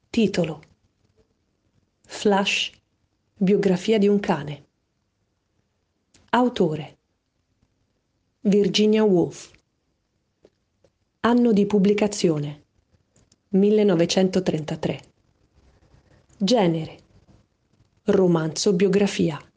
Titolo: Flash, biografia di un cane. Autore: Virginia Woolf. Anno di pubblicazione: 1933. Genere: romanzo biografia.